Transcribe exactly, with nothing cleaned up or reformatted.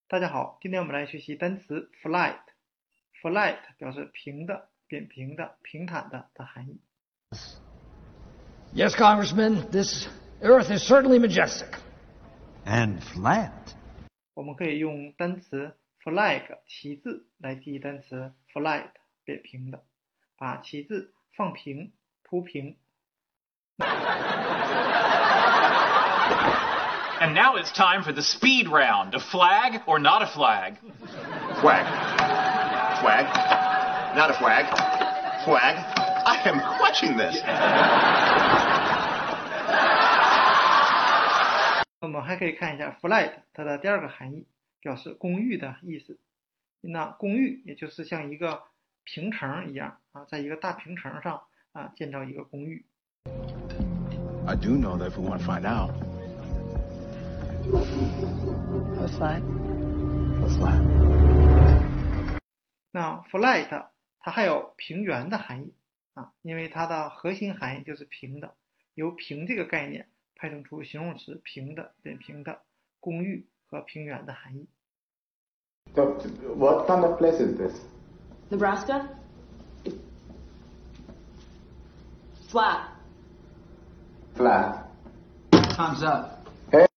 大家好，今天我们来学习单词 flat。flat 表示平的、扁平的、平坦的的含义。 Yes, Congressman, this Earth is certainly majestic. And flat. 我们可以用单词 flag 旗帜来记忆单词 flat 扁平的，把旗帜放平、铺平。 And now it's time for the speed round. A flag or not a flag? Flag. Flag. Not a flag. Flag. I am clutching this. 我们还可以看一下 flat 它的第二个含义，表示公寓的意思。那公寓也就是像一个平层一样啊，在一个大平层上啊建造一个公寓。 I do know that if we want to find out. What's flat? What's flat? 那 flat 它还有平原的含义啊，因为它的核心含义就是平的，由平这个概念派生出形容词平的、扁平的、公寓和平原的含义。 So, what kind of place is this? Nebraska? Flat. Flat. Time's up.